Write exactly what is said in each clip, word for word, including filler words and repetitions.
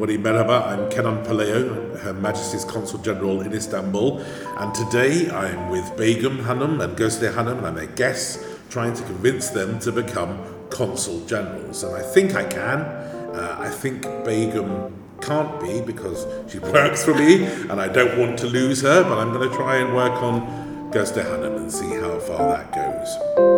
everybody, merhaba. I'm Kenan Paleo, Her Majesty's Consul General in Istanbul, and today I'm with Begum Hanım and Gözde Hanım, and I'm their guests, trying to convince them to become Consul Generals. And I think I can. Uh, I think Begum can't be because she works for me, and I don't want to lose her, but I'm going to try and work on Gözde Hanım and see how far that goes.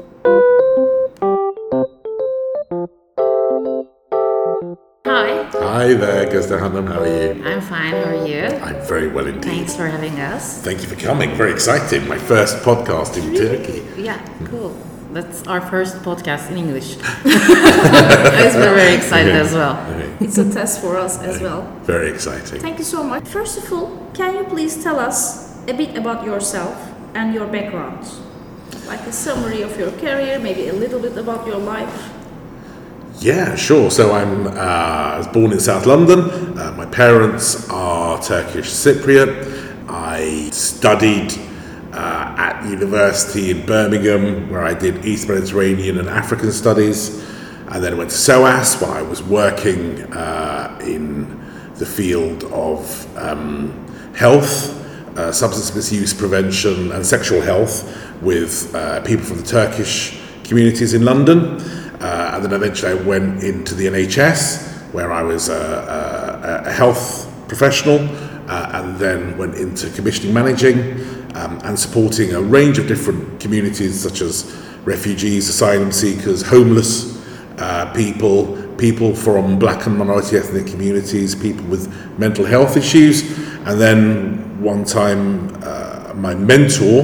Hi there, Gözde Hanım, how are you? I'm fine, how are you? I'm very well indeed. Thanks for having us. Thank you for coming, very exciting. My first podcast in really? Turkey. Yeah, cool. That's our first podcast in English. We're very excited okay. as well. Okay. It's a test for us as well. Very exciting. Thank you so much. First of all, can you please tell us a bit about yourself and your background? Like a summary of your career, maybe a little bit about your life. Yeah, sure. So I'm uh, I was born in South London. Uh, my parents are Turkish Cypriot. I studied uh, at university in Birmingham, where I did East Mediterranean and African studies. And then I went to SOAS, where I was working uh, in the field of um, health, uh, substance misuse prevention and sexual health with uh, people from the Turkish communities in London. Uh, and then eventually I went into the N H S, where I was a, a, a health professional, uh, and then went into commissioning managing um, and supporting a range of different communities such as refugees, asylum seekers, homeless uh, people, people from black and minority ethnic communities, people with mental health issues. And then one time uh, my mentor,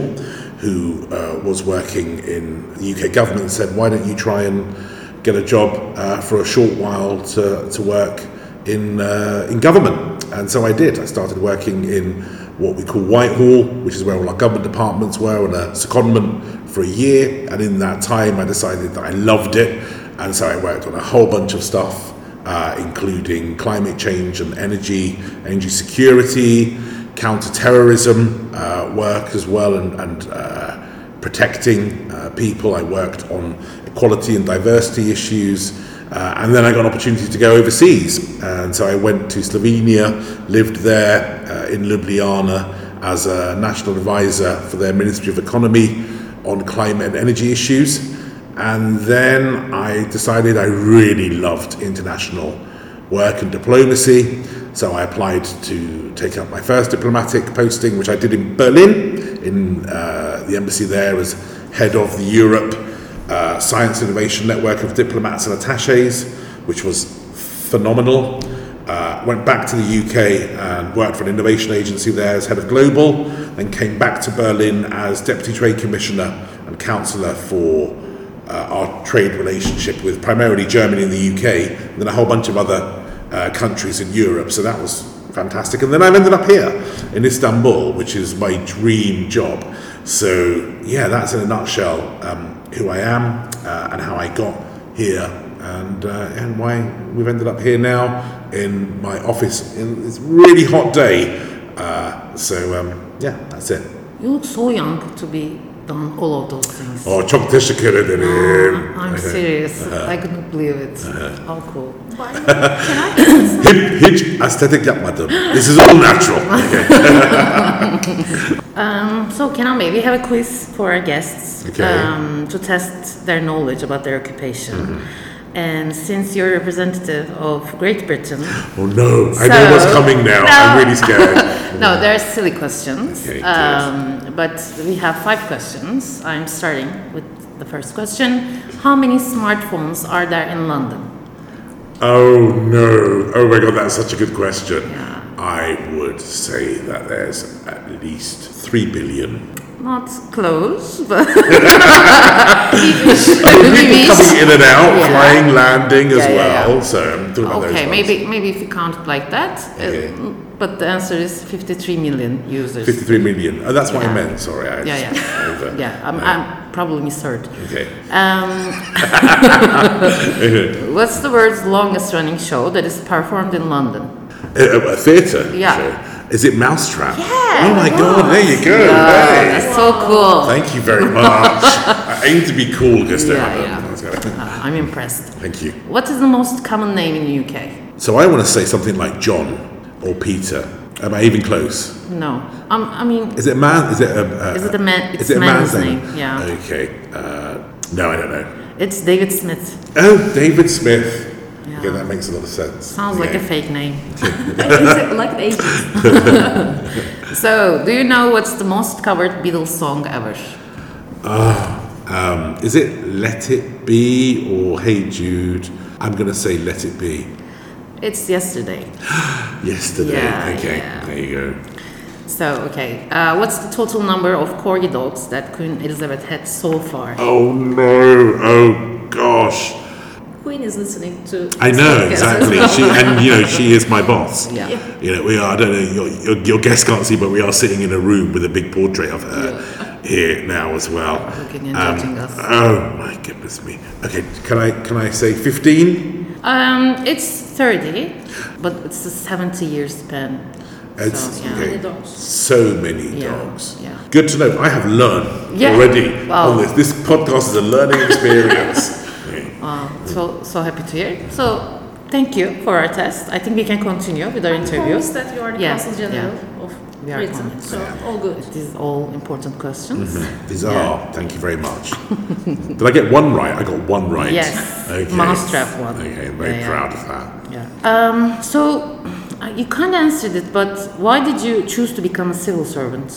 who uh, was working in the U K government, said, why don't you try and get a job uh, for a short while to, to work in uh, in government? And so I did. I started working in what we call Whitehall, which is where all our government departments were, on a secondment for a year. And in that time, I decided that I loved it. And so I worked on a whole bunch of stuff, uh, including climate change and energy, energy security, counter-terrorism uh, work as well, and, and uh, protecting uh, people. I worked on equality and diversity issues, uh, and then I got an opportunity to go overseas, and so I went to Slovenia, lived there uh, in Ljubljana as a national advisor for their Ministry of Economy on climate and energy issues. And then I decided I really loved international work and diplomacy. So I applied to take up my first diplomatic posting, which I did in Berlin, in uh, the embassy there as head of the Europe uh, Science Innovation Network of Diplomats and Attachés, which was phenomenal. Uh, went back to the U K and worked for an innovation agency there as head of global, then came back to Berlin as Deputy Trade Commissioner and Councillor for uh, our trade relationship with primarily Germany and the U K, and then a whole bunch of other Uh, countries in Europe, so that was fantastic. And then I've ended up here in Istanbul, which is my dream job. So yeah, that's in a nutshell um, who I am uh, and how I got here, and uh, and why we've ended up here now in my office in this really hot day. Uh, so um, yeah, that's it. You look so young to be done all of those things. Oh, çok teşekkür ederim. Uh, I'm Okay. serious. Uh-huh. I couldn't believe it. Uh-huh. How cool. Hiç, hiç estetik yapmadım. This is all natural. Okay. um, so, Kenan Bey, we have a quiz for our guests Okay. um, to test their knowledge about their occupation. Mm-hmm. And since you're a representative of Great Britain... Oh no, I so, know what's coming now. No. I'm really scared. No, they're silly questions. Okay, um, but we have five questions. I'm starting with the first question. How many smartphones are there in London? Oh no. Oh my god, that's such a good question. Yeah. I would say that there's at least three billion. Not close, but I mean, people coming in and out, Yeah. flying, landing as Yeah, yeah, well. yeah. So I'm talking about okay, those maybe ones. maybe if you count it like that, Okay. uh, but the answer is fifty-three million users. fifty-three million. Oh, that's what Yeah. I meant. Sorry, I Yeah, just over. yeah, I'm, I'm probably misheard. Okay. Um, what's the world's longest running show that is performed in London? A, a theatre Yeah. show. Is it Mousetrap? Yeah. Oh my god, there you go. Yeah, Hey. that's so cool. Thank you very much. I aim to be cool, Gustav. Yeah, yeah. Uh, I'm impressed. Thank you. What is the most common name in the U K? So I want to say something like John or Peter. Am I even close? No. Um, I mean, Is it a man? Is it a, a is it a man? It's is it a man's man's name. name? Yeah. Okay. Uh, no, I don't know. It's David Smith. Oh, David Smith. Yeah. Okay, that makes a lot of sense. Sounds like a Okay. fake name. Like the ages. So, do you know what's the most covered Beatles song ever? Um, is it Let It Be or Hey Jude? I'm going to say Let It Be. It's Yesterday. Yesterday. Yeah, okay, yeah. there you go. So, okay. Uh, what's the total number of corgi dogs that Queen Elizabeth had so far? Oh no! Oh gosh! Queen is listening to. I this know podcast. exactly. She and you know she is my boss. Yeah. Yeah. You know we are. I don't know. Your, your, your guests can't see, but we are sitting in a room with a big portrait of her here now as well. Looking and Um, judging us. Oh my goodness me. Okay, can I can I say fifteen? Um, it's thirty, but it's a seventy year span. It's So, yeah. okay. Many dogs. So many Yeah, dogs. yeah. Good to know. I have learned Yeah. already Wow. on this. This podcast is a learning experience. Okay. Wow, so so happy to hear. So thank you for our test. I think we can continue with our I interview. promise that you are the Yeah, Consul General of We are Britain, convinced. so all good. These all important questions. These Yeah. are. Thank you very much. Did I get one right? I got one right. Yes, Okay. mousetrap one. Okay, I'm very Yeah, yeah. proud of that. Yeah. Um, so uh, you kind of answered it, but why did you choose to become a civil servant?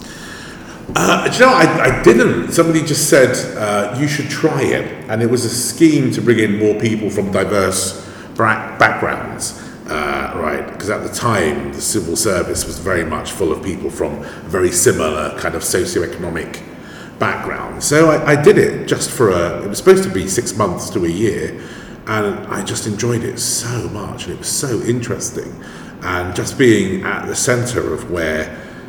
Uh, do you know, I, I didn't. Somebody just said uh, you should try it, and it was a scheme to bring in more people from diverse bra- backgrounds. Uh, right, because at the time the civil service was very much full of people from very similar kind of socioeconomic backgrounds. So I, I did it just for a. It was supposed to be six months to a year, and I just enjoyed it so much, and it was so interesting, and just being at the centre of where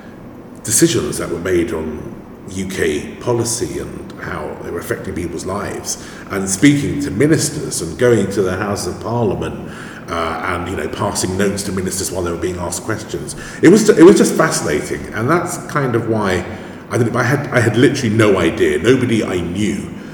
decisions that were made on U K policy and how they were affecting people's lives, and speaking to ministers and going to the House of Parliament. Uh, and you know, passing notes to ministers while they were being asked questions. It was it was just fascinating, and that's kind of why I did it. I had I had literally no idea. Nobody I knew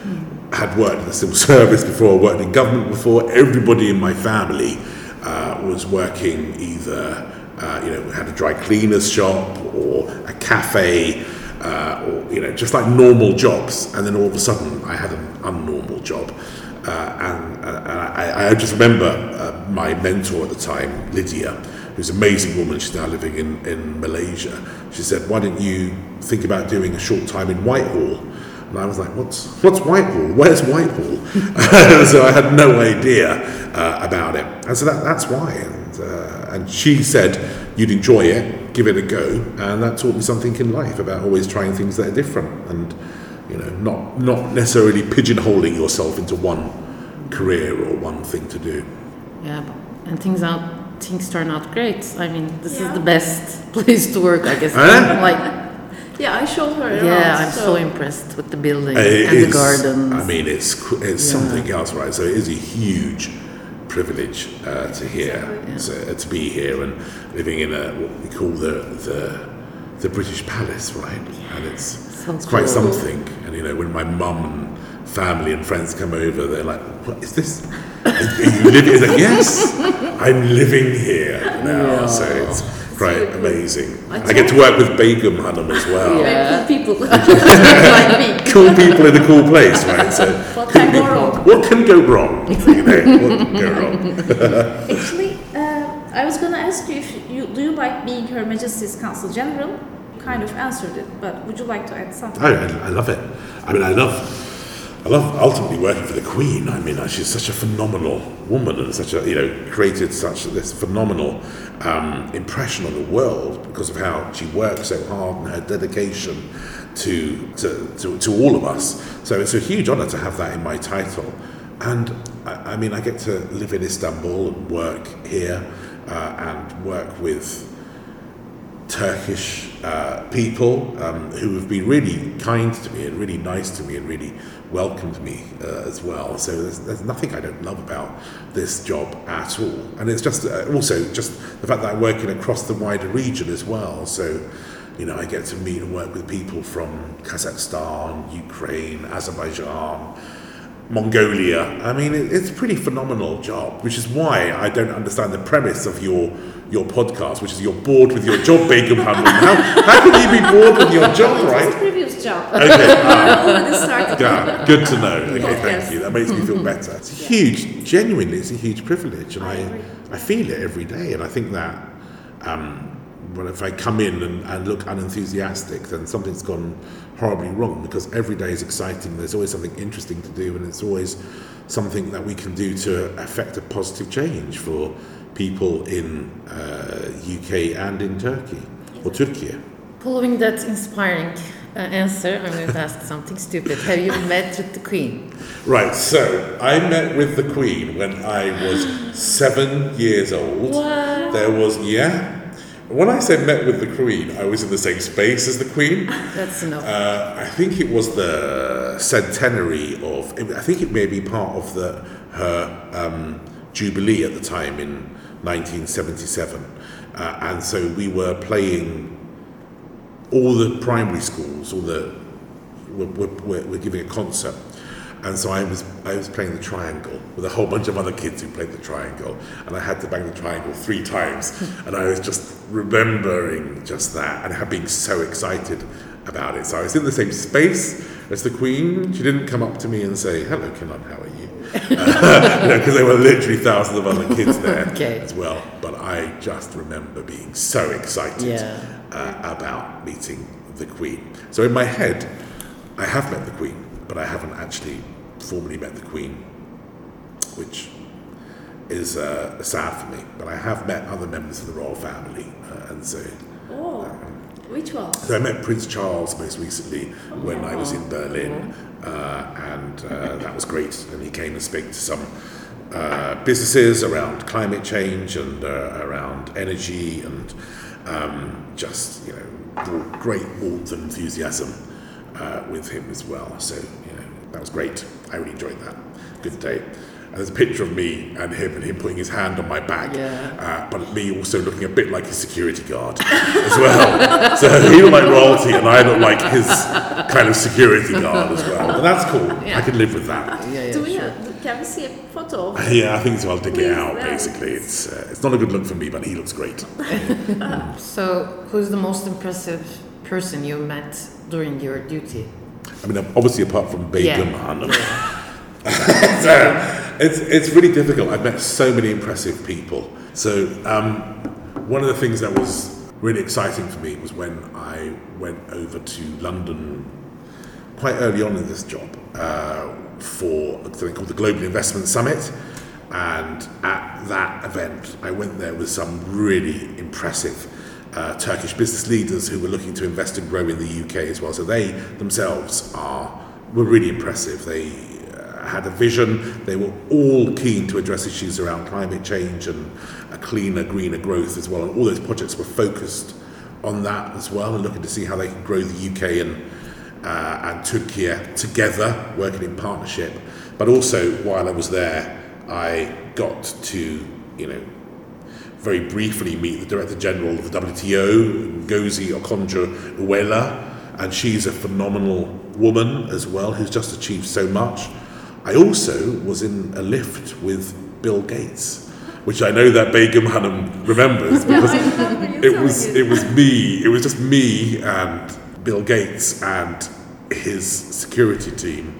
had worked in the civil service before, worked in government before. Everybody in my family uh, was working either uh, you know had a dry cleaner's shop or a cafe. Uh, or you know, just like normal jobs, and then all of a sudden I had an unnormal job. Uh, and uh, and I, I just remember uh, my mentor at the time, Lydia, who's an amazing woman. She's now living in, in Malaysia. She said, "Why don't you think about doing a short time in Whitehall?" And I was like, "What's what's Whitehall? Where's Whitehall?" So I had no idea uh, about it, and so that, that's why. And uh, and she said, "You'd enjoy it. Give it a go," and that taught me something in life about always trying things that are different and. You know, not not necessarily pigeonholing yourself into one career or one thing to do. Yeah, but- and things out things turn out great. I mean, this Yeah. is the best place to work, I guess. Huh? Like, Yeah, I showed her around. yeah, I'm so impressed with the building It and the is- gardens. I mean, it's cr- it's Yeah. something else, right? So it is a huge privilege uh, to hear, Yeah. so, uh, to be here and living in a what we call the the, the British Palace, right? And it's So it's quite cool. something. And you know, when my mum and family and friends come over, they're like, "What is this? Are you living?" It's like, "Yes, I'm living here now." So it's quite really cool. amazing. I I get to work with Begum Hanum as well. Yeah. Very cool people like me. Cool people in a cool place, right? So What can go wrong? what can go wrong? You know, what can go wrong? Actually, uh, I was going to ask you if you do you like being Her Majesty's Consul General? You kind of answered it, but would you like to add something? I, I love it. I mean, I love, I love ultimately working for the Queen. I mean, she's such a phenomenal woman and such a you know created such this phenomenal um, impression on the world because of how she works so hard and her dedication to to, to to all of us. So it's a huge honour to have that in my title. And I, I mean, I get to live in Istanbul and work here uh, and work with Turkish uh, people um, who have been really kind to me and really nice to me and really welcomed me uh, as well. So there's, there's nothing I don't love about this job at all. And it's just uh, also just the fact that I'm working across the wider region as well. So, you know, I get to meet and work with people from Kazakhstan, Ukraine, Azerbaijan, Mongolia. I mean, it, it's a pretty phenomenal job, which is why I don't understand the premise of your your podcast, which is you're bored with your job, Begum Hanum. How, how can you be bored with your job, It was right? the previous job. Okay, ah, Already started. yeah, good to know. Okay, Yes. thank you. That makes me feel better. It's a huge, genuinely, it's a huge privilege, and I I, agree. I feel it every day. And I think that um, well, if I come in and, and look unenthusiastic, then something's gone horribly wrong. Because every day is exciting. There's always something interesting to do, and it's always something that we can do to affect a positive change for people in uh, U K and in Turkey or Turkey. Following that inspiring uh, answer, I'm going to ask something stupid. Have you met with the Queen? Right, so I met with the Queen when I was seven years old. What? There was, yeah. When I say met with the Queen, I was in the same space as the Queen. That's enough. Uh, I think it was the centenary of, I think it may be part of the her um, Jubilee at the time in nineteen seventy-seven. Uh, and so we were playing, all the primary schools, all the, were, were, were giving a concert. And so I was I was playing the triangle with a whole bunch of other kids who played the triangle, and I had to bang the triangle three times, and I was just remembering just that and being so excited about it. So I was in the same space as the Queen. She didn't come up to me and say, "Hello, Kenan, how are you?" uh, you know, because there were literally thousands of other kids there Okay. as well. But I just remember being so excited Yeah. uh, about meeting the Queen. So in my head, I have met the Queen, but I haven't actually formally met the Queen, which is uh, sad for me. But I have met other members of the royal family, uh, and so, Oh, which one? so I met Prince Charles most recently when I was in Berlin, uh, and uh, that was great. And he came and spoke to some uh, businesses around climate change and uh, around energy, and um, just you know, brought great warmth and enthusiasm uh, with him as well. So you know, that was great. I really enjoyed that. Good day. And there's a picture of me and him, and him putting his hand on my back, Yeah. uh, but me also looking a bit like his security guard as well. So he looked like royalty, and I looked like his kind of security guard as well. But that's cool. I can live with that. Yeah, yeah, Do we sure. have, can we see a photo? of- Yeah, I think so. I'll dig Please, it out. yeah. Basically, it's uh, it's not a good look for me, but he looks great. So, who's the most impressive person you met during your duty? I mean, obviously, apart from Begum Yeah. Hanum, it's, uh, it's it's really difficult. I've met so many impressive people. So um, one of the things that was really exciting for me was when I went over to London quite early on in this job uh, for something called the Global Investment Summit. And at that event, I went there with some really impressive uh, Turkish business leaders who were looking to invest and grow in the U K as well. So they themselves are were really impressive. They uh, had a vision. They were all keen to address issues around climate change and a cleaner, greener growth as well. And all those projects were focused on that as well, and looking to see how they could grow the U K and uh, and Turkey together, working in partnership. But also, while I was there, I got to, you know, very briefly meet the Director General of the W T O, Ngozi Okonjo-Iweala, and she's a phenomenal woman as well, who's just achieved so much. I also was in a lift with Bill Gates, which I know that Begum Hanum remembers, because I remember you it telling was it. it was me, it was just me and Bill Gates and his security team,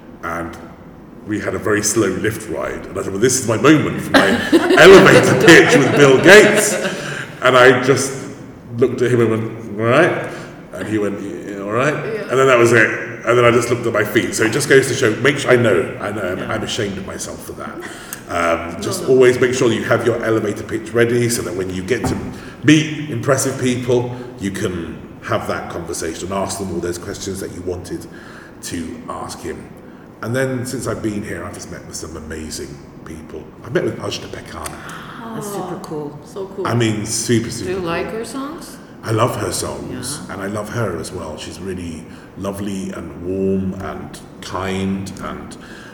and we had a very slow lift ride, and I thought, well, this is my moment for my elevator pitch with Bill Gates. And I just looked at him and went, all right? And he went, yeah, all right? And then that was it. And then I just looked at my feet. So it just goes to show, make sure, I know, I know, I'm, I'm ashamed of myself for that. Um, just No, no. always make sure you have your elevator pitch ready, so that when you get to meet impressive people, you can have that conversation and ask them all those questions that you wanted to ask him. And then since I've been here, I've just met with some amazing people. I've met with Ajda Pekkan. That's super cool. So cool. I mean, super, super Do you cool. like her songs? I love her songs, Yeah. and I love her as well. She's really lovely and warm and kind, and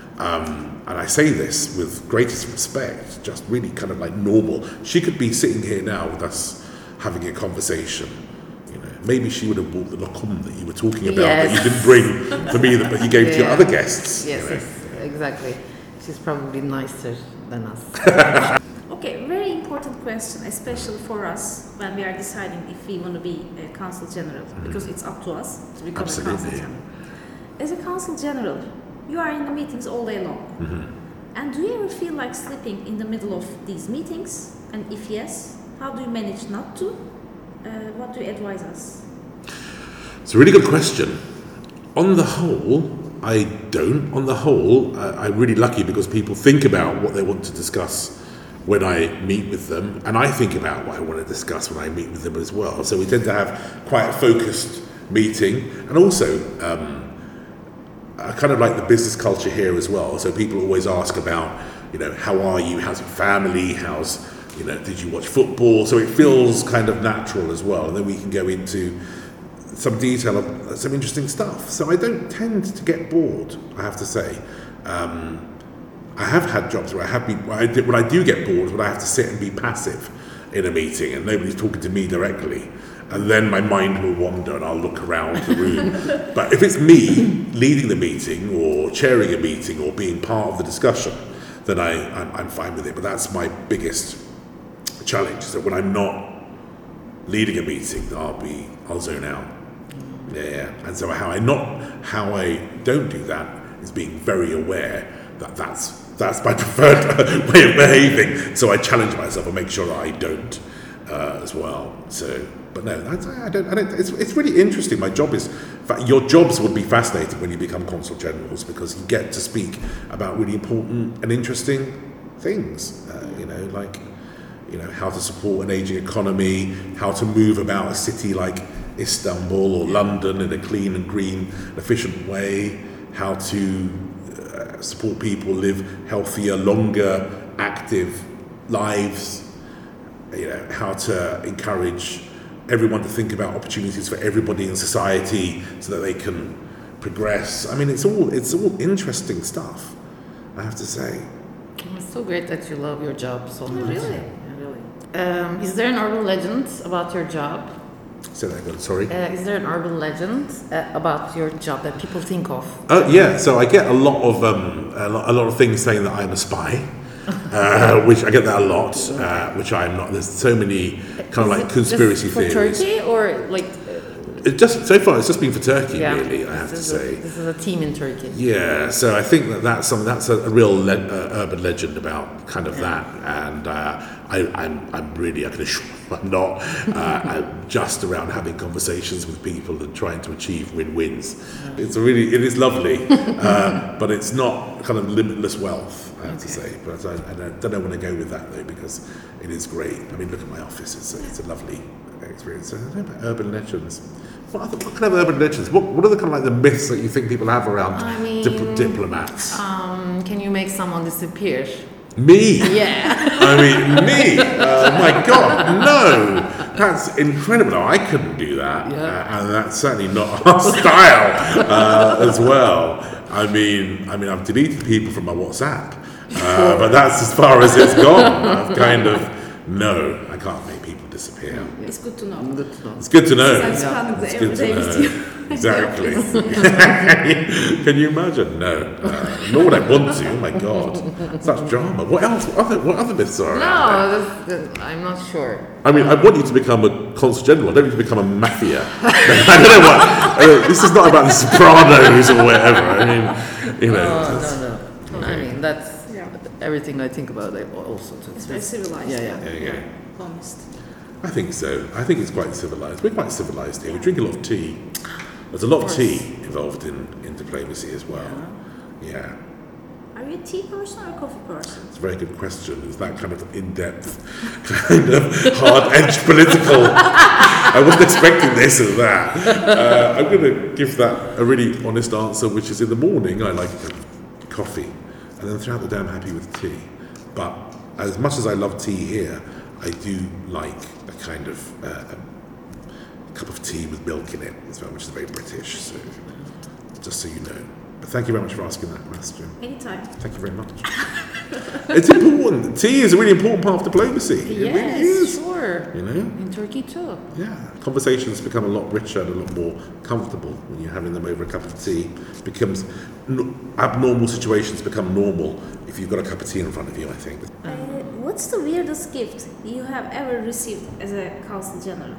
um, and I say this with greatest respect, just really kind of like normal. She could be sitting here now with us having a conversation. You know, maybe she would have bought the lokum that you were talking about Yes. that you didn't bring for me, that but you gave to your Yeah. other guests. Yes, you know. yes, exactly. exactly. She's probably nicer than us. Okay, very important question, especially for us when we are deciding if we want to be a consul general, because it's up to us to become Absolutely. a consul general. As a consul general, you are in the meetings all day long. And do you ever feel like sleeping in the middle of these meetings? And if yes, how do you manage not to? Uh, what do you advise us? It's a really good question. On the whole, I don't. On the whole, I, I'm really lucky because people think about what they want to discuss when I meet with them, and I think about what I want to discuss when I meet with them as well. So we tend to have quite a focused meeting, and also um, I kind of like the business culture here as well. So people always ask about, you know, how are you? How's your family? How's, you know, did you watch football? So it feels kind of natural as well, and then we can go into some detail of some interesting stuff. So I don't tend to get bored, I have to say. Um, I have had jobs where I have been, where I, did, when I do get bored, when I have to sit and be passive in a meeting and nobody's talking to me directly, and then my mind will wander and I'll look around the room. But if it's me leading the meeting or chairing a meeting or being part of the discussion, then I, I'm, I'm fine with it. But that's my biggest challenge, is that when I'm not leading a meeting, I'll be, I'll zone out. Yeah, yeah. And so how I not, how I don't do that is being very aware that that's that's my preferred way of behaving. So I challenge myself and make sure that I don't uh, as well. So, but no, that's, I don't. I don't. It's it's really interesting. My job is, in fact, your jobs would be fascinating when you become consul generals, because you get to speak about really important and interesting things. Uh, you know, like, you know, how to support an aging economy, how to move about a city like Istanbul or London in a clean and green, efficient way, how to uh, support people live healthier, longer, active lives, you know, how to encourage everyone to think about opportunities for everybody in society so that they can progress. I mean, it's all it's all interesting stuff, I have to say. It's so great that you love your job so much. Really? Yeah, really. Um, is there an urban legend about your job? Say that again, sorry. Uh, is there an urban legend uh, about your job that people think of? Uh, yeah, so I get a lot of um, a, lot, a lot of things saying that I'm a spy, uh, which I get that a lot, uh, which I'm not. There's so many kind of like conspiracy just for theories. Turkey or like? It just so far it's just been for Turkey, Yeah, really. I have to this is a- say. this is a team in Turkey. Yeah, so I think that that's something that's a, a real le- uh, urban legend about kind of that, and uh, I, I'm I'm really I can assure you I'm not. Uh, I'm just around having conversations with people and trying to achieve win-wins. It's a really it is lovely, uh, but it's not kind of limitless wealth, I have to say. But I, I don't know when to go with that though, because it is great. I mean, look at my office; it's a, it's a lovely experience. So I don't know about urban legends. What, other, what kind of urban legends? What, what are the kind of like the myths that you think people have around I mean, dip- diplomats? Um, can you make someone disappear? Me? Yeah. I mean, me? Oh my God, no! That's incredible. No, I couldn't do that, Yeah. uh, and that's certainly not our style uh, as well. I mean, I mean, I've deleted people from my WhatsApp, uh, but that's as far as it's gone. I've kind of no, I can't make people disappear. It's good to know. Good to know. It's good to know. I'm spending the It's every good day to with know. you. Exactly. Can you imagine? No. Uh, nor would I want to. Oh my God. Such drama. What else? What other, what other myths are around there? No, that's, that, I'm not sure. I mean, I want you to become a consul general. I don't want you to become a mafia. I don't know what. Uh, this is not about the Sopranos or whatever. I mean, you know. Oh, it's- no, no. I mean, that's Yeah. everything I think about it also. Too. It's very civilized. Yeah, yeah. There you go. Honest. I think so. I think it's quite civilized. We're quite civilized here. We drink a lot of tea. There's a lot of tea involved in, in diplomacy as well. Yeah. Are you a tea person or a coffee person? It's a very good question. It's that kind of in-depth, kind of hard-edged political. I wasn't expecting this or that. Uh, I'm going to give that a really honest answer, which is in the morning I like coffee, and then throughout the day I'm happy with tea. But as much as I love tea here, I do like a kind of uh, a cup of tea with milk in it as well, which is very British. So, just so you know. But thank you very much for asking that question. Anytime. Thank you very much. It's important. Tea is a really important part of diplomacy. It Yes, really is. sure. You know? In Turkey too. Yeah. Conversations become a lot richer and a lot more comfortable when you're having them over a cup of tea. It becomes no, abnormal situations become normal if you've got a cup of tea in front of you, I think. Uh, what's the weirdest gift you have ever received as a consul general?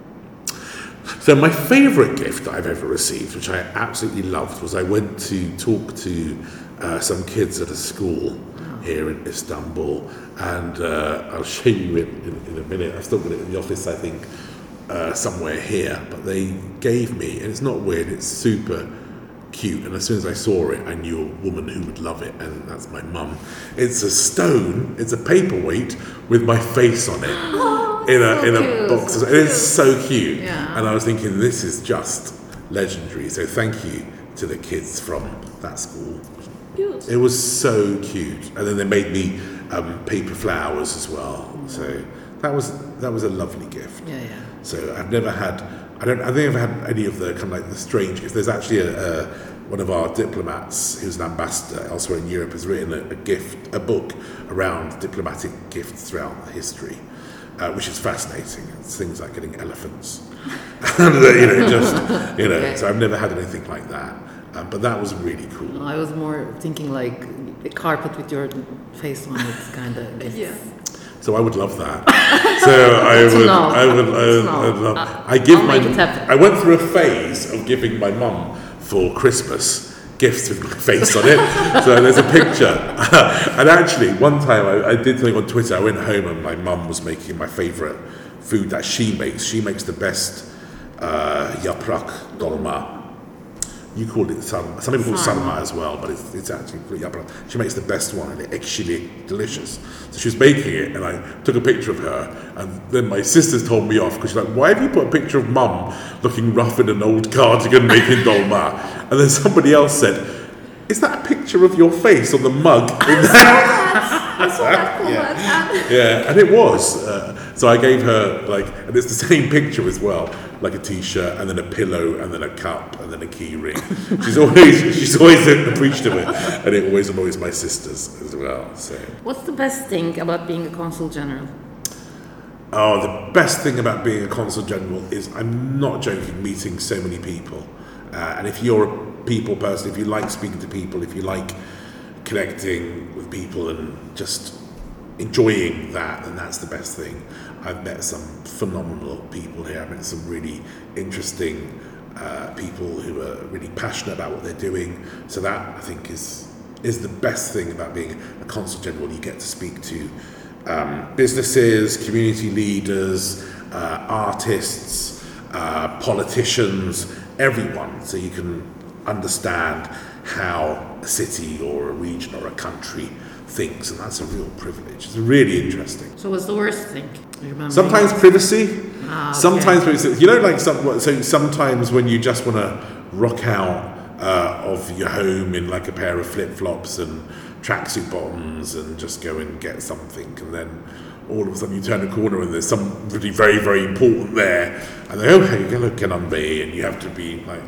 So my favourite gift I've ever received, which I absolutely loved, was I went to talk to uh, some kids at a school here in Istanbul, and uh, I'll show you it in, in a minute. I've still got it in the office, I think, uh, somewhere here. But they gave me, and it's not weird, it's super cute. And as soon as I saw it, I knew a woman who would love it, and that's my mum. It's a stone, it's a paperweight with my face on it. Oh, in a so in a cute. box. So It is cute. so cute. Yeah. And I was thinking, this is just legendary. So thank you to the kids from that school. Cute. It was so cute. And then they made me um, paper flowers as well. So that was that was a lovely gift. Yeah, yeah. So I've never had, I don't, I think I've had any of the kind of like the strange gifts. There's actually a, a one of our diplomats who's an ambassador elsewhere in Europe has written a, a gift, a book around diplomatic gifts throughout history, uh, which is fascinating. It's things like getting elephants, and uh, you know, just you know. Okay. So I've never had anything like that, um, but that was really cool. I was more thinking like a carpet with your face on it, kind of. Yeah. So I would love that. So I It's a would, no. I would, I It's would, no. I would love. I- I give I'll my. make it happen. I went through a phase of giving my mum for Christmas gifts with my face on it. So there's a picture. And actually, one time I, I did something on Twitter. I went home and my mum was making my favourite food that she makes. She makes the best uh, yaprak dolma. You call it sarma. Some people call it Sarma. sarma as well, but it's, it's actually called yaprak. She makes the best one, and it's actually delicious. So she was making it, and I took a picture of her, and then my sisters told me off because she's like, "Why have you put a picture of mum looking rough in an old cardigan making dolma?" And then somebody else said, "Is that a picture of your face on the mug?" In I saw that comment. and- Yeah, and it was. Uh, so I gave her like, and it's the same picture as well, like a T-shirt, and then a pillow, and then a cup, and then a key ring. She's always, she's always appreciative of it, and it always annoys my sisters as well. So, What's the best thing about being a consul general? oh, the best thing about being a consul general is, I'm not joking, meeting so many people. Uh, and if you're a people person, if you like speaking to people, if you like connecting with people and just enjoying that, then that's the best thing. I've met some phenomenal people here. I've met some really interesting uh, people who are really passionate about what they're doing. So that, I think, is is the best thing about being a consul general. You get to speak to um, businesses, community leaders, uh, artists, uh, politicians, everyone, so you can understand how a city or a region or a country thinks, and that's a real privilege. It's really interesting. So what's the worst thing? You remember? Sometimes privacy, Ah, okay. sometimes privacy. You know, like some, so sometimes when you just want to rock out uh, of your home in like a pair of flip-flops and tracksuit bottoms and just go and get something, and then all of a sudden you turn a corner and there's somebody very, very important there, and they go, oh, hey, hello, can I be? And you have to be like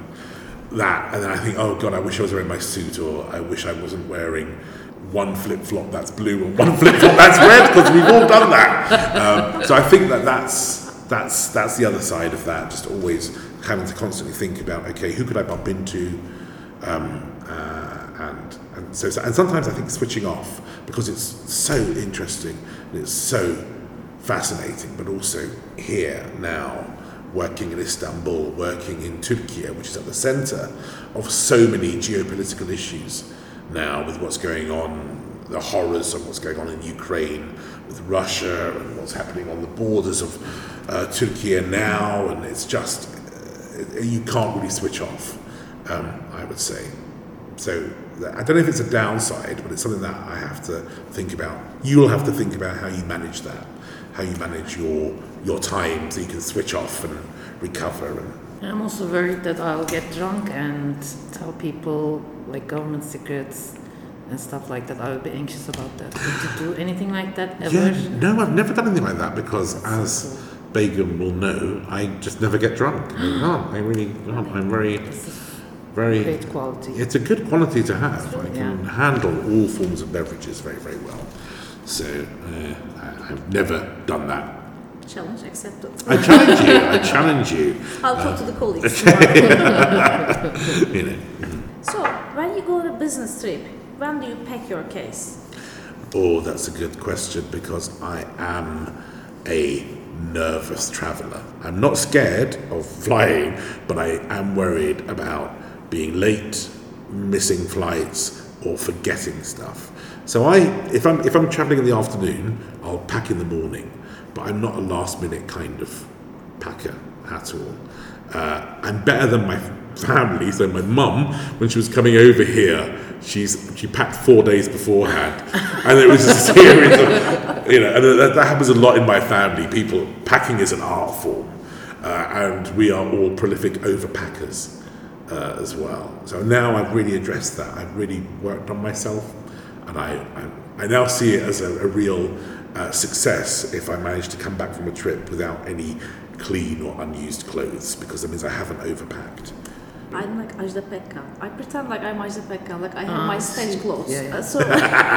that, and then I think, oh God, I wish I was wearing my suit, or I wish I wasn't wearing one flip-flop that's blue and one flip-flop that's red, because we've all done that. Um, so I think that that's, that's, that's the other side of that, just always having to constantly think about, okay, who could I bump into? Um, uh, and and so and sometimes I think switching off, because it's so interesting and it's so fascinating, but also here now, working in Istanbul, working in Turkey, which is at the centre of so many geopolitical issues now, with what's going on, the horrors of what's going on in Ukraine, with Russia, and what's happening on the borders of uh, Turkey now, and it's just, uh, you can't really switch off, um, I would say. So I don't know if it's a downside, but it's something that I have to think about. You'll have to think about how you manage that, how you manage your your time so you can switch off and recover. And I'm also worried that I'll get drunk and tell people like government secrets and stuff like that. I would be anxious about that. Did you do anything like that ever? yeah, no, I've never done anything like that, because as Begum will know, I just never get drunk. I can't. I really can't. I'm very. very great quality. It's a good quality to have. I can Yeah. handle all forms of beverages very, very well. So uh, I, I've never done that. Challenge accepted. I challenge you. I challenge you. I'll talk to the colleagues. You know. So, when you go on a business trip, when do you pack your case? Oh, that's a good question because I am a nervous traveller. I'm not scared of flying, but I am worried about being late, missing flights, or forgetting stuff. So I, if I'm if I'm travelling in the afternoon, I'll pack in the morning, but I'm not a last minute kind of packer at all. Uh, I'm better than my family. So my mum, when she was coming over here, she's she packed four days beforehand, and it was a series of, you know, and that, that happens a lot in my family. People packing is an art form, uh, and we are all prolific overpackers uh, as well. So now I've really addressed that. I've really worked on myself, and I I, I now see it as a, a real uh, success if I manage to come back from a trip without any clean or unused clothes, because that means I haven't overpacked. I'm like Ajda Pekkan. I pretend like I'm Ajda Pekkan, like I have Ah, my stage clothes. yeah, yeah. Uh, so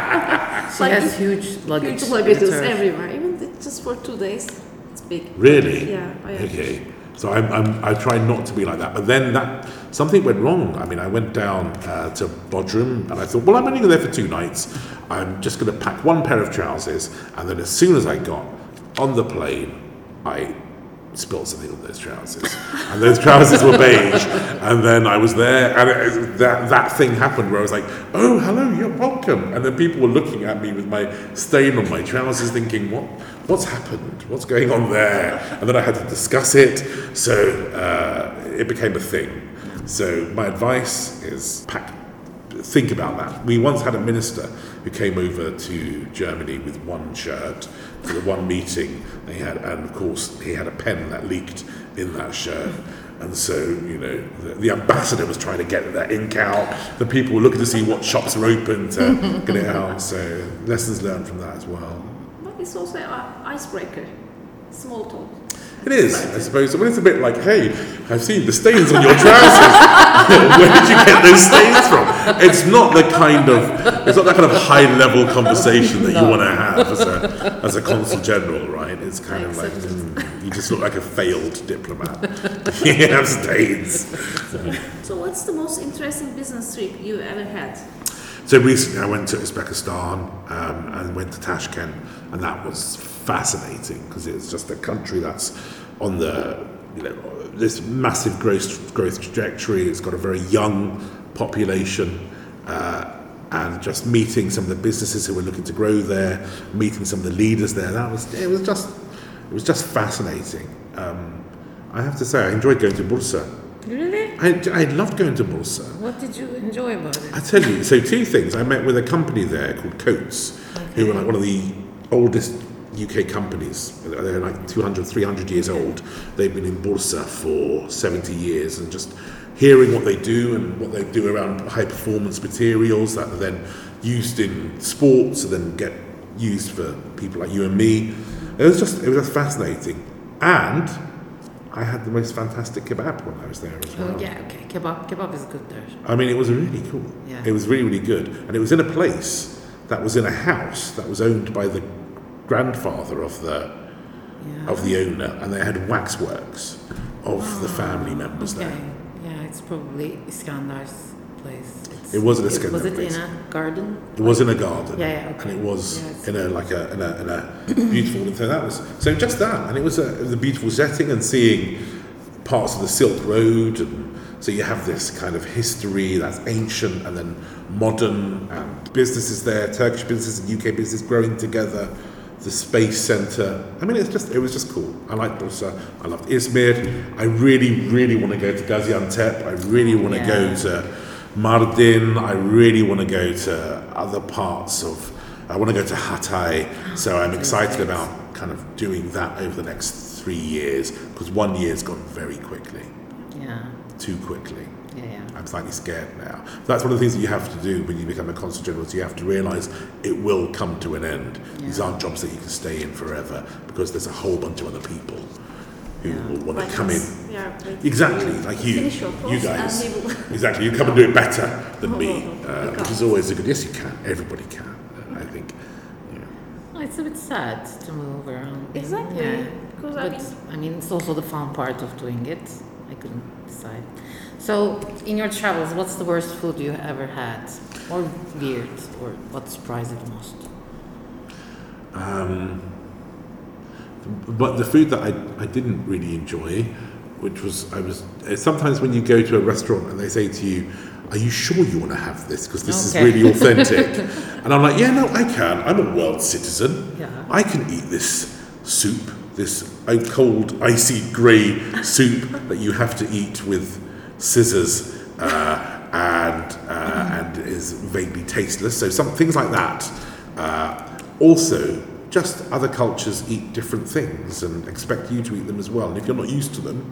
She like has if- huge luggage. huge luggages with her. everywhere. Even th- just for two days, it's big. Really? Yeah, I am. Okay. So I'm, I'm, I try not to be like that. But then that something went wrong. I mean, I went down uh, to Bodrum and I thought, well, I'm only there for two nights. I'm just going to pack one pair of trousers. And then as soon as I got on the plane, I spilled something on those trousers. And those trousers were beige. And then I was there and it, that, that thing happened where I was like, oh, hello, you're welcome. And then people were looking at me with my stain on my trousers thinking, what? What's happened? What's going on there? And then I had to discuss it. So uh, it became a thing. So my advice is pack, think about that. We once had a minister who came over to Germany with one shirt for the one meeting they had, and of course he had a pen that leaked in that shirt. And so, you know, the, the ambassador was trying to get that ink out. The people were looking to see what shops were open to get it out. So lessons learned from that as well. But it's also an icebreaker. Small talk. It is, I suppose. I mean, it's a bit like, hey, I've seen the stains on your trousers. Where did you get those stains from? It's not the kind of, it's not that kind of high-level conversation that you want to have as a as a consul general, right? It's kind of like, mm, you just look like a failed diplomat. You have stains. So, what's the most interesting business trip you ever had? So recently I went to Uzbekistan um, and went to Tashkent, and that was fascinating because it's just a country that's on the, you know, this massive growth growth trajectory. It's got a very young population, uh, and just meeting some of the businesses who were looking to grow there, meeting some of the leaders there. That was it was just it was just fascinating. Um, I have to say I enjoyed going to Bursa. Really? I, I loved going to Bursa. What did you enjoy about it? I tell you, so two things. I met with a company there called Coates, who were like one of the oldest U K companies. They're like two hundred, three hundred years old. They've been in Bursa for seventy years, and just hearing what they do and what they do around high performance materials that are then used in sports and then get used for people like you and me. It was just, it was just fascinating. And I had the most fantastic kebab when I was there as well. Oh, yeah, okay. Kebab, kebab is good there. I mean, it was really cool. Yeah. It was really, really good. And it was in a place that was in a house that was owned by the grandfather of the Yeah. of the owner, and they had waxworks of the family members Okay. there. Yeah, it's probably Iskandar's place. It's, It wasn't Iskandar Was it place. in a garden? It was in a garden, Yeah, yeah, okay. and it was Yeah, it's- in a like a in a, in a beautiful. So that was so just that, and it was a, it was a beautiful setting, and seeing parts of the Silk Road, and so you have this kind of history that's ancient and then modern, and businesses there, Turkish businesses and U K business growing together. The space centre. I mean, it's just it was just cool. I liked Bursa. I loved Izmir. I really, really want to go to Gaziantep. I really want to Yeah. go to Mardin. I really want to go to other parts of. I want to go to Hatay. So I'm excited about kind of doing that over the next three years because one year's gone very quickly, Yeah, too quickly. yeah, yeah. I'm slightly scared now. That's one of the things that you have to do when you become a consul general. Is you have to realise it will come to an end. These Yeah. aren't jobs that you can stay in forever because there's a whole bunch of other people who Yeah. will want Like to come us. in. We are waiting Exactly, to like you, finish your you post guys. and we will Exactly, you come and do it better than No, me, no, no, we uh, which can't. is always a good. Yes, you can. Everybody can. Uh, I think. Yeah. Well, it's a bit sad to move around. Exactly. Yeah. Because I But mean, I mean, it's also the fun part of doing it. I couldn't decide. So, in your travels, what's the worst food you ever had, or weird, or what surprised you the most? Um, but the food that I, I didn't really enjoy, which was I was uh, sometimes when you go to a restaurant and they say to you, "Are you sure you want to have this? Because this Okay. is really authentic." And I'm like, "Yeah, no, I can. I'm a world citizen. Yeah. I can eat this soup, this uh, cold, icy grey soup that you have to eat with scissors uh, and uh, and is vaguely tasteless." So some things like that. Uh, also, just other cultures eat different things and expect you to eat them as well. And if you're not used to them,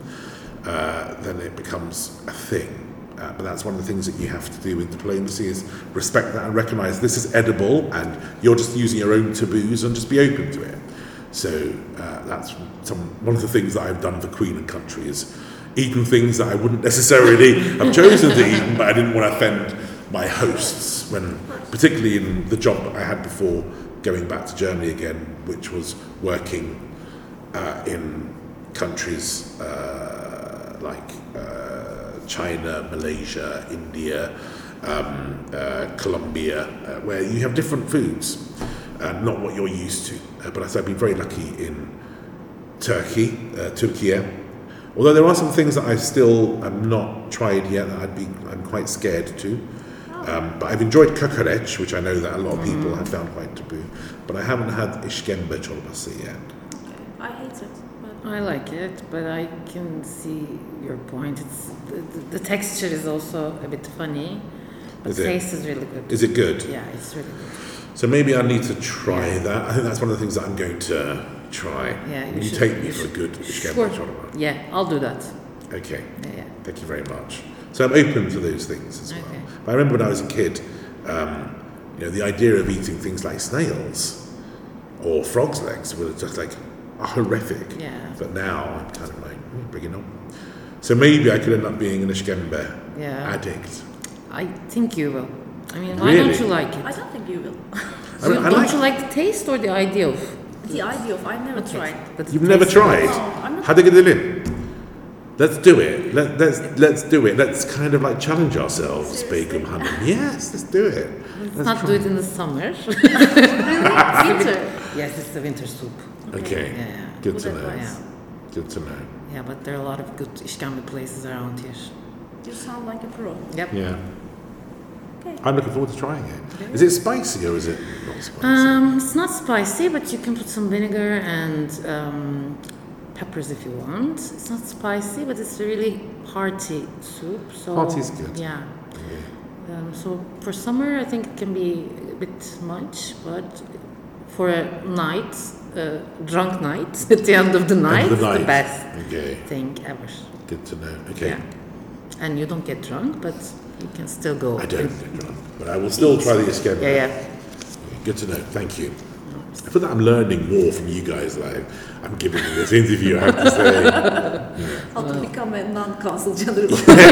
uh, then it becomes a thing. Uh, but that's one of the things that you have to do with diplomacy is respect that and recognise this is edible and you're just using your own taboos and just be open to it. So uh, that's some one of the things that I've done for Queen and Country is eaten things that I wouldn't necessarily have chosen to eat, but I didn't want to offend my hosts, when particularly in the job that I had before going back to Germany again, which was working uh, in countries uh, like uh, China, Malaysia, India, um, uh, Colombia, uh, where you have different foods, uh, not what you're used to. Uh, but I've been very lucky in Turkey, uh, Turkey. Although there are some things that I still have not tried yet that I'd be, I'm quite scared to. Um, but I've enjoyed kokoreç, which I know that a lot of people have found quite taboo. But I haven't had işkembe çorbası yet. I hate it. But I like it, but I can see your point. It's the, the, the texture is also a bit funny, but Is the it? taste is really good. Is it good? Yeah, it's really good. So maybe I need to try that. I think that's one of the things that I'm going to try. Yeah, you Will you should- take me you for a should- good işkembe Sure. çorba? Yeah, I'll do that. Okay. Yeah, yeah. Thank you very much. So I'm open to those things as well. Okay. But I remember when I was a kid, um, you know, the idea of eating things like snails or frogs' legs was just like horrific. Yeah. But now I'm kind of like, mm, bring it on. So maybe I could end up being an işkembe Yeah. addict. I think you will. I mean, why Really? don't you like it? I don't think you will. I mean, You- I don't like- you like the taste or the idea of? The idea of I've never Okay, tried. but the You've never taste- tried? No, I'm not- Hadi gidelim. Let's do it. Let, let's let's do it. Let's kind of like challenge ourselves, Begum Hanım. Yes, let's do it. Let's Let's not try. do it in the summer. Winter. Yes, it's the winter soup. Okay. Yeah, yeah. Good Good to know. advice. Yeah. Good to know. Yeah, but there are a lot of good işkembe places around here. You sound like a pro. Yep. Yeah. Okay. I'm looking forward to trying it. Is it spicy or is it not spicy? Um, it's not spicy, but you can put some vinegar and um, peppers if you want. It's not spicy, but it's a really hearty soup. So Hearty is good. Yeah. Yeah. Um, so for summer, I think it can be a bit much, but for a night, uh, drunk night at the end of the night, End of it's the the night. best Okay. thing ever. Good to know. Okay. Yeah. And you don't get drunk, but you can still go. I don't get drunk, but I will still try the işkembe. Yeah, yeah. Good to know. Thank you. I feel that I'm learning more from you guys that I- I'm giving in this interview, I have to say. How to become a non-consul general.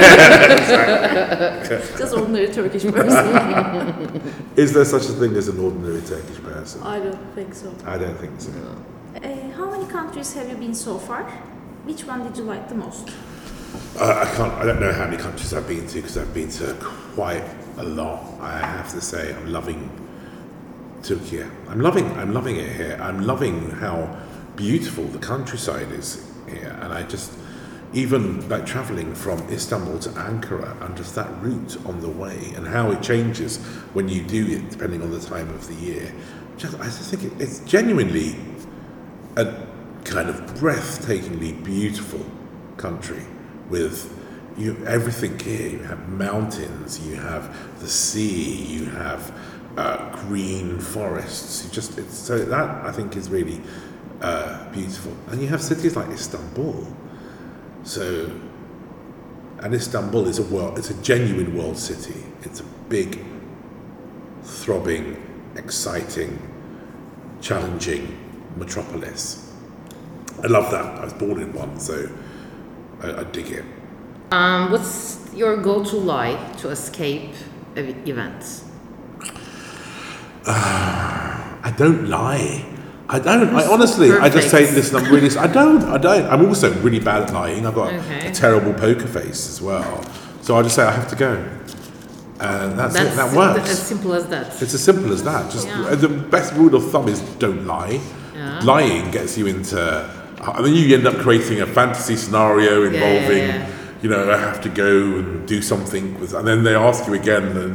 Just ordinary Turkish person. Is there such a thing as an ordinary Turkish person? I don't think so. I don't think so. Uh, how many countries have you been so far? Which one did you like the most? Uh, I can't. I don't know how many countries I've been to because I've been to quite a lot. I have to say, I'm loving Turkey. I'm loving. I'm loving it here. I'm loving how beautiful the countryside is here, and I just even like traveling from Istanbul to Ankara and just that route on the way and how it changes when you do it depending on the time of the year. Just, I just think it, it's genuinely a kind of breathtakingly beautiful country with you everything here. You have mountains, you have the sea, you have uh, green forests. You just it's so that I think is really uh, beautiful. And you have cities like Istanbul. So, and Istanbul is a world. It's a genuine world city. It's a big, throbbing, exciting, challenging metropolis. I love that. I was born in one, so I, I dig it. Um, what's your go-to lie to escape ev- events? I don't lie. I don't. I You're so honestly, I just say, perfect. listen, I'm really. I don't. I don't. I'm also really bad at lying. I've got Okay. a terrible poker face as well. So I just say I have to go, and that's, it. That sim- works. as simple as that. It's as simple as that. Just Yeah. the best rule of thumb is don't lie. Yeah. Lying gets you into. I mean, you end up creating a fantasy scenario Yeah, yeah, involving, yeah. you know, I have to go and do something with, and then they ask you again, and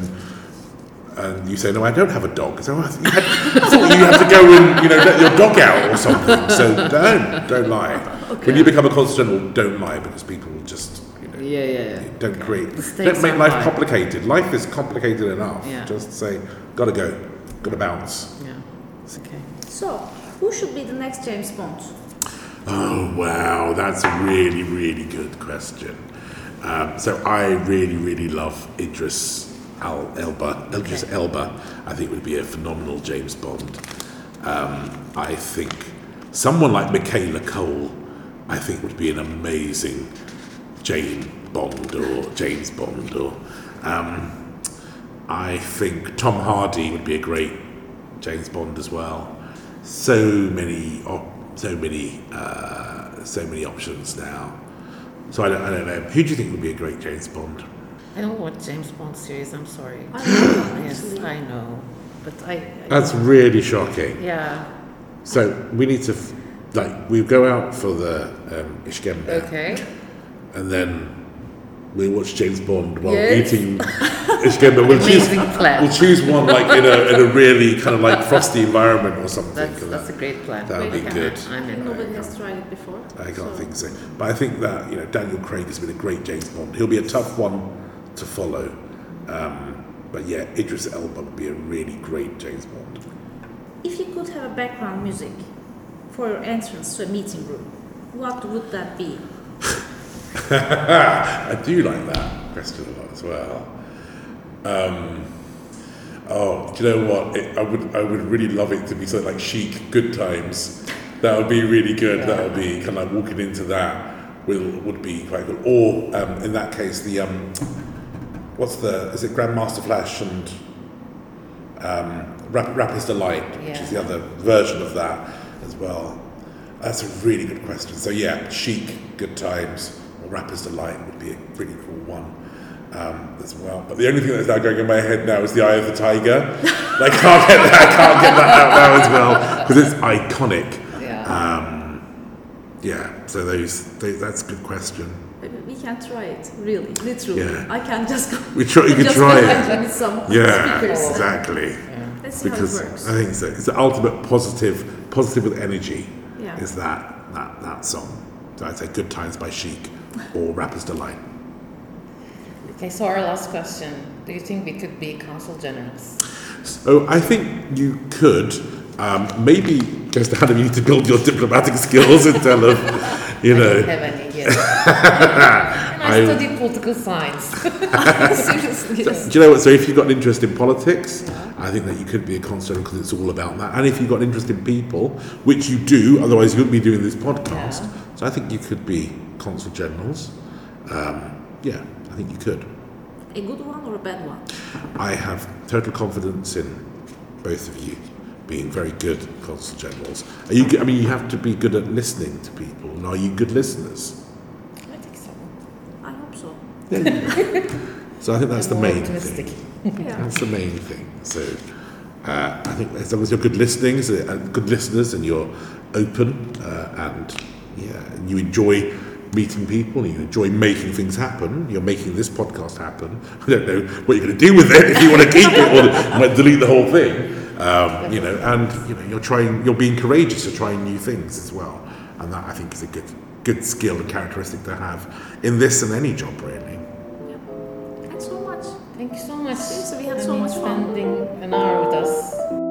and you say, no, I don't have a dog. So I thought you had, I thought you had to go and, you know, let your dog out or something. So don't don't lie. When you become a consul general, don't lie because people will just, you know, Yeah, yeah, yeah. don't create. The stakes Don't make are life high. complicated. Life is complicated enough. Yeah. Just say, gotta go, gotta bounce. Yeah. Okay. So, who should be the next James Bond? Oh wow, that's a really really good question. Um, so I really really love Idris Al Elba. Idris Okay. Elba, I think would be a phenomenal James Bond. Um, I think someone like Michaela Cole, I think would be an amazing Jane Bond or James Bond. Or um, I think Tom Hardy would be a great James Bond as well. So many, op- so many, uh, so many options now. So I don't, I don't know. Who do you think would be a great James Bond? I don't watch James Bond series. I'm sorry. I don't know, Yes, actually. I know, but I. I That's really shocking. yeah. So we need to, f- like, we go out for the um, Ishkembe, Okay. and then we watch James Bond while Yes. eating Ishkembe. We'll choose, Amazing plan. we'll choose one like in a in a really kind of like frosty environment or something. That's and that's a that, great plan. that would be Great good. I'm in. Nobody has tried it before. I can't so- think so. But I think that, you know, Daniel Craig has been a great James Bond. He'll be a tough one to follow. Um, but yeah, Idris Elba would be a really great James Bond. If you could have a background music for your entrance to a meeting room, what would that be? I do like that question a lot as well. Um, oh, do you know what? It, I would I would really love it to be something like Chic, Good Times. That would be really good. That would be kind of like walking into that will would be quite good. Or um, in that case, the um, what's the is it Grandmaster Flash and um, Rap, Rapper's Delight, which is the Yeah. other version of that as well. That's a really good question. So yeah, Chic, Good Times, or Rapper's Delight would be a pretty cool one um, as well. But the only thing that's now going in my head now is the Eye of the Tiger. I can't get that. I can't get that out now as well because it's iconic. Yeah. Um, yeah. So those, those that's a good question. Maybe we can try it, really, literally. Yeah. I can just go. We try. You could just try go it. back with some Yeah. speakers. Exactly. Let's see Because how it works. I think so. It's the ultimate positive, positive with energy. Yeah. Is that that that song? So I'd say "Good Times" by Chic or "Rapper's Delight." Okay. So our last question: do you think we could be consul generals? So I think you could. Um, maybe just how do you need to build your diplomatic skills and tell them, you I know. don't have any yet. And I, I- studied political science. Seriously. Do you know what? So if you've got an interest in politics, I think that you could be a consul because it's all about that. And if you've got an interest in people, which you do, otherwise you wouldn't be doing this podcast. Yeah. So I think you could be consul generals. Um, yeah, I think you could. A good one or a bad one? I have total confidence in both of you being very good consul generals. Are you? I mean, you have to be good at listening to people. And are you good listeners? I think so. I hope so. Yeah, you are. So I think that's the More main optimistic. thing. Yeah. That's the main thing. So uh, I think as long as you're good listening, uh, good listeners, and you're open uh, and yeah, and you enjoy meeting people and you enjoy making things happen. You're making this podcast happen. I don't know what you're going to do with it if you want to keep it or you might delete the whole thing. Um, you know, and you know, you're trying, you're being courageous. You're trying new things as well, and that I think is a good, good skill and characteristic to have in this and any job, really. Yeah. Thanks so much. Thank you so much. Seriously, we had I so mean, much fun. spending an hour with us.